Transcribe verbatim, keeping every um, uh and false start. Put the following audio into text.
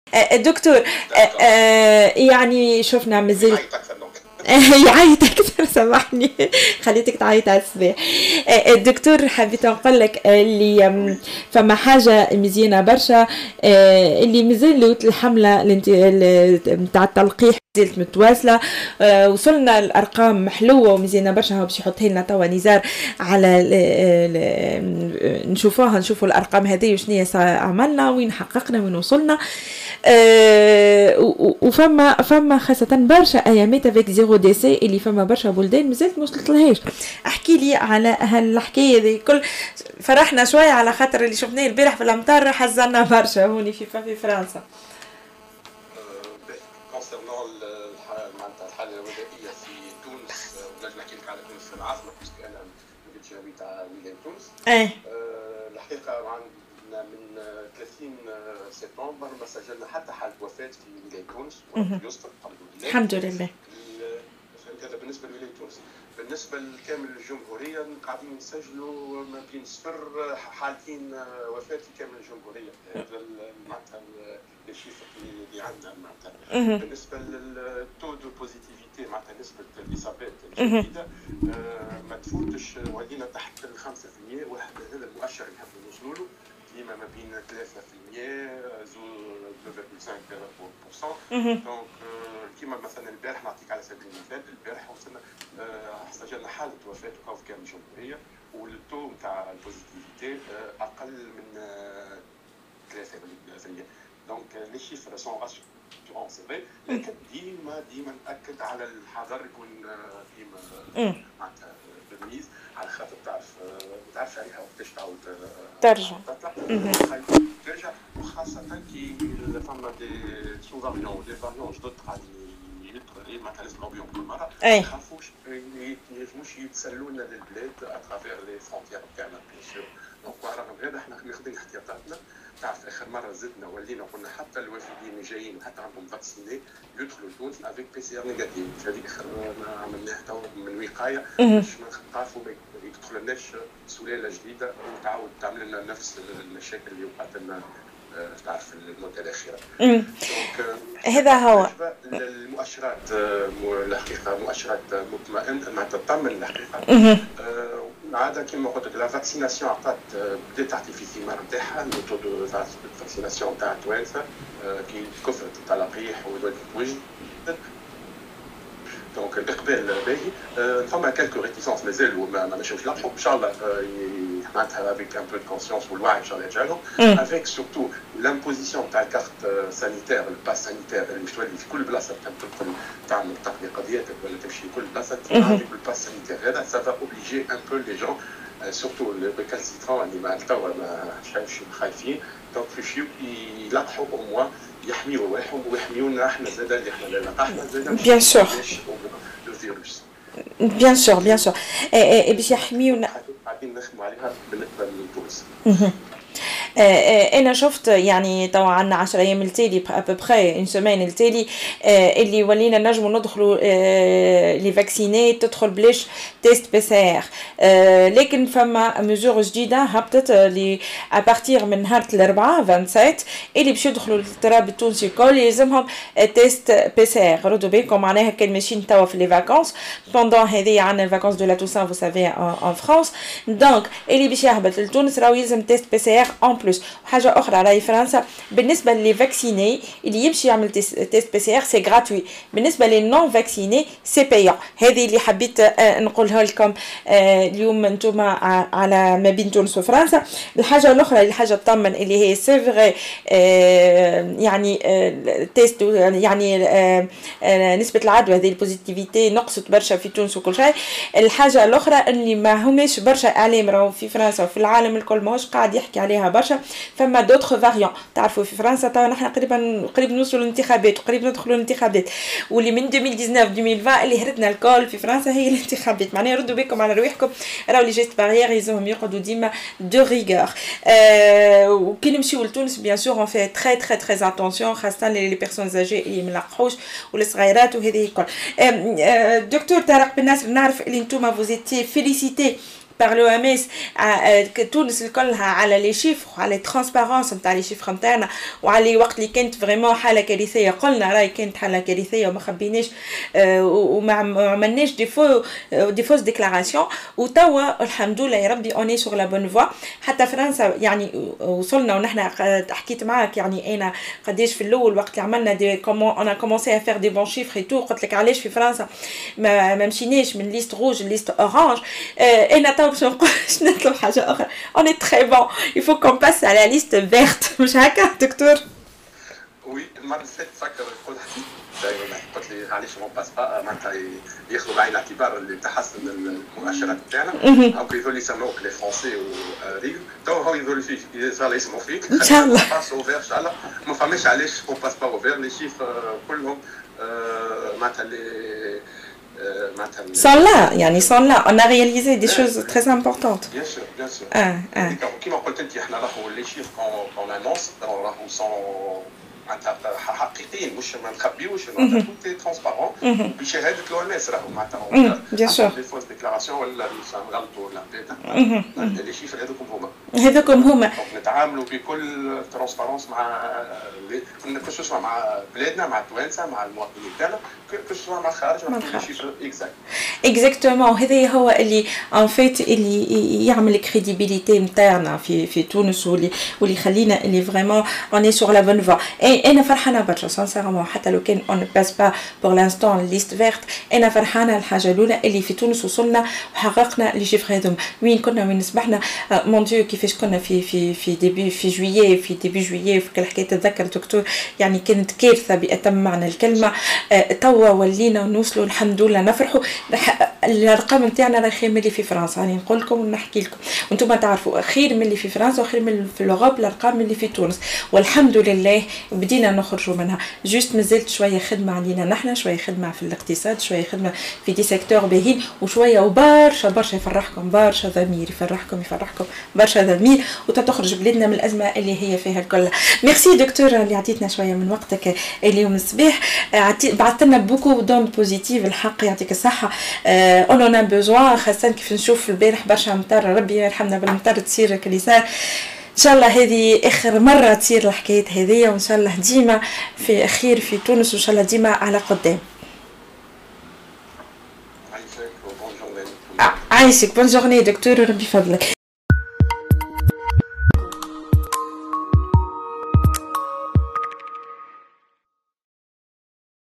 آه، دكتور، آه، داكور. آه، يعني شفنا مازال يعيط اكثر دونك. يعيط اكثر. سامحني، خليتك تعيط على الصباح. آه، الدكتور حبيت نقول لك اللي آم، وي. فما حاجه مزيانه برشا، آه، اللي مازال الحمله الانت- ال- نتاع التلقيح زالت متواصله. آه، وصلنا الارقام محلوه ومزيانه برشا. هو باش يحطها لنا توا نزار على ال- ال- نشوفوها، نشوفوا الارقام هذه وشنيا عملنا، وين حققنا، وين وصلنا. آه، و- و- وفما فما خاصة برشا ايامات افيك زيرو دي سي اللي فما برشا بلدان مازالت ما وصلتلهاش. احكي لي على هالحكايه هذه الكل. فرحنا شويه على خاطر اللي شفناه البارح في الامطار، حزنا برشا هوني في في فرنسا. كونسيرنون معناتها الحاله الوبائيه في تونس، ونجم نحكي لك على تونس في العاصمه باسكو انا كنت جاوي تاع ولايه تونس. ايه. آه، الحقيقه عندنا من ثلاثين سبتمبر ما سجلنا حتى حاله وفاه في ولايه تونس، وربي يستر الحمد لله. الحمد لله. ال- هذا بالنسبه لولايه تونس. بالنسبه لكامل الجمهوريه قاعدين نسجلوا ما بين صفر حالتين وفاه في كامل الجمهوريه. هذا ال- معناتها الشيفر اللي عندنا معناتها. بالنسبه للتو دو بوزيتيفيتي معناتها نسبه الاصابات الجديده آه، ما تفوتش، ولينا تحت ال خمسة بالمئة. واحد هذا المؤشر اللي نحبوا نوصلوا له ديما ما بين ثلاثة بالمئة زو اثنين فاصلة خمسة بالمئة. دونك كيما مثلا البارح نعطيك على سبيل المثال، البارح وصلنا آه، سجلنا حاله وفاه في كامل الجمهوريه، والتو نتاع البوزيتيفيتي آه، اقل من آه، ثلاثة بالمئة. دونك لي شيفر سون راسيورون سي فري، لكن ديما ديما ناكد على الحذر يكون آه، ديما معناتها بالميز، على خاطر تعرف آه، ما تعرفش عليها وقتاش تعاود آه، ترجع. تطلع ترجع، وخاصة كي فما دي سو فاريون دي فاريون جدد قاعدين يدخل معناتها نسمعوا بهم كل مرة. ما ايه. نخافوش ينجموش يتسلوا لنا للبلاد اترافير لي فرونتيير تاعنا بيان سور. دونك رغم هذا احنا ماخذين احتياطاتنا. تعرف اخر مره زدنا ولينا قلنا حتى الوافدين اللي جايين وحتى عندهم فاكسيني يدخلوا لتونس افيك بي سي ار نيجاتيف. هذه اخر ما عملناها تو من وقايه باش ما نخافوا ما يدخلناش سلاله جديده وتعاود تعمل لنا نفس المشاكل اللي وقعت لنا آه، تعرف المده الاخيره. دونك هذا هو. المؤشرات آه، الحقيقه مؤشرات مطمئن معناتها تطمن الحقيقه. آه، عادة كما قلت لك لا فاكسيناسيون عطات بدات تعطي في الثمار نتاعها. الميثو دو فاكسيناسيون تاع التوانسه كي كثرت التلقيح وتوجد، دونك الاقبال باهي. فما كالكو ريتيسونس مازالوا ما مشاوش لقحوا ان شاء الله معناتها افيك ان بو دو كونسيونس والوعي ان شاء الله يرجع لهم، افيك سورتو لامبوزيسيون تاع الكارت سانيتير الباس سانيتير اللي باش تولي في كل بلاصه تدخل تعمل تقضي قضيتك ولا تمشي كل بلاصه تجي بالباس سانيتير. هذا سافا اوبليجي ان بو لي جون سورتو لي ريكالسيترون اللي مع توا ما شايفش خايفين، دونك باش يلقحوا او موا يحميوا رواحهم ويحميونا احنا زاد اللي احنا لا لقحنا زاد بيان سور. الفيروس. بيان سور بيان سور. باش يحميونا. قاعدين نخدموا عليها بالنسبه لتونس. انا شفت يعني طبعا عندنا عشرة ايام التالي ابوبخي اون سيمين التالي اللي ولينا نجموا ندخلوا لي فاكسيني تدخل بلاش تيست بي سي ار. لكن فما ميزور جديده هبطت لي ابارتير من نهار الاربعاء سبعة وعشرين اللي باش يدخلوا للتراب التونسي الكل يلزمهم تيست بي سي ار. ردوا بالكم معناها كان ماشيين توا في لي فاكونس بوندون هذه عندنا الفاكونس دو لا توسان فو سافي ان فرانس. دونك اللي باش يهبط لتونس راهو يلزم تيست بي سي ار ان بلوس. حاجه اخرى راهي فرنسا بالنسبه لي فاكسيني اللي يمشي يعمل تيست بي سي ار سي غراتوي، بالنسبه لي نون فاكسيني سي بايون. هذه اللي حبيت نقولها لكم اليوم انتم على ما بين تونس وفرنسا. الحاجه الاخرى اللي حاجه تطمن اللي هي سي فري يعني تيست يعني نسبه العدوى هذه البوزيتيفيتي نقصت برشا في تونس وكل شيء. الحاجه الاخرى اللي ما هماش برشا اعلام راهو في فرنسا وفي العالم الكل ماهوش قاعد يحكي عليها برشا. فما دوتر فاريون. تعرفوا في فرنسا تو نحن قريبا قريب نوصلوا للانتخابات وقريب ندخلوا للانتخابات، واللي من ألفين وتسعطاش ألفين وعشرين اللي هرتنا الكل في فرنسا هي الانتخابات. معناها ردوا بالكم على رواحكم، راهو لي جيست باريير يلزمهم يقعدوا ديما دو ريغور. أه وكي نمشيو لتونس بيان سور اون في تري تري تري اتونسيون خاصه لي بيرسون زاجي اللي ما لقحوش والصغيرات وهذه الكل. أه دكتور طارق بن ناصر نعرف اللي نتوما فوزيتي فيليسيتي par l'O M S تونس كلها على لي شيفر على الترانسبارونس نتاع لي شيفر نتاعنا وعلى وقت اللي كانت فريمون حاله كارثيه قلنا راهي كانت حاله كارثيه وما خبيناش وما عملناش دي فو دي فوز ديكلاراسيون وتوا الحمد لله يا ربي اوني سور لا بون فوا حتى فرنسا يعني وصلنا ونحن حكيت معك يعني انا قداش في الاول وقت اللي عملنا دي كومون انا كومونسي ا فير دي بون شيفر اي تو قلت لك علاش في فرنسا ما, ما مشيناش من ليست روج ليست اورانج انا تو باش نقولش نطلب حاجه اخرى اوني تري بون il faut qu'on passe à la liste verte مش هكا دكتور؟ وي المره اللي فاتت فكر قلت قلت لي علاش ما باس با معناتها ياخذوا بعين الاعتبار اللي تحسن المؤشرات بتاعنا او يظهروا لي يسموك لي فرونسي وريغ تو هو يظهروا فيك يظهر يسمعوا فيك ان شاء الله باس اوفير ان شاء الله ما فهمش علاش اون باس با اوفير لي شيفر كلهم معناتها لي sans là يعني sans là on a réalisé des choses très importantes bien sûr bien sûr اه اه كيما قلت انت احنا راهو لي شيفر كون انونس راهو سون حقيقيين مش ما نخبيوش معناتها توتي ترونسبارون بشهاده لو ام اس راهو معناتها بيان سور لي فوز ديكلاراسيون ولا نغلطوا ولا بيتا لي شيفر هذوكم هما هذوكم هما نتعاملوا بكل ترونسبارونس مع كو مع بلادنا مع التوانسه مع المواطنين تاعنا كو مع الخارج مع لي شيفر اكزاكت اكزاكتومون هذا هو اللي ان فيت اللي يعمل كريديبيليتي نتاعنا في في تونس واللي واللي يخلينا اللي فريمون اوني سور لا بون فوا انا فرحانه برشا سانسيرمون حتى لو كان اون باس با بور لانستون ليست فيرت انا فرحانه الحاجه الاولى اللي في تونس وصلنا وحققنا لي شيفر هذوم وين كنا وين صبحنا مون ديو كيفاش كنا في في في ديبي في جويي في ديبي جويي في كل حكايه تتذكر دكتور يعني كانت كارثه باتم معنى الكلمه توا ولينا نوصلوا الحمد لله نفرحوا الارقام نتاعنا راهي خير من اللي في فرنسا راني نقول لكم ونحكي لكم وانتم تعرفوا خير من اللي في فرنسا وخير من في الاوروب الارقام اللي في تونس والحمد لله بدينا نخرجوا منها جوست مازلت شويه خدمه علينا نحن شويه خدمه في الاقتصاد شويه خدمه في دي سيكتور باهين وشويه وبرشا برشا يفرحكم برشا ضمير يفرحكم يفرحكم برشا ضمير وتخرج بلادنا من الازمه اللي هي فيها الكل. ميرسي دكتور اللي عطيتنا شويه من وقتك اليوم الصباح بعثت لنا بوكو دون بوزيتيف الحق يعطيك الصحه اون اون بوزوان خاصه كيف نشوف البارح برشا مطر ربي يرحمنا بالمطر تصير كل صار ان شاء الله هذه اخر مره تصير الحكايه هذه وان شاء الله ديما في خير في تونس وان شاء الله ديما على قدام. عايشك بون جورني دكتور ربي يفضلك.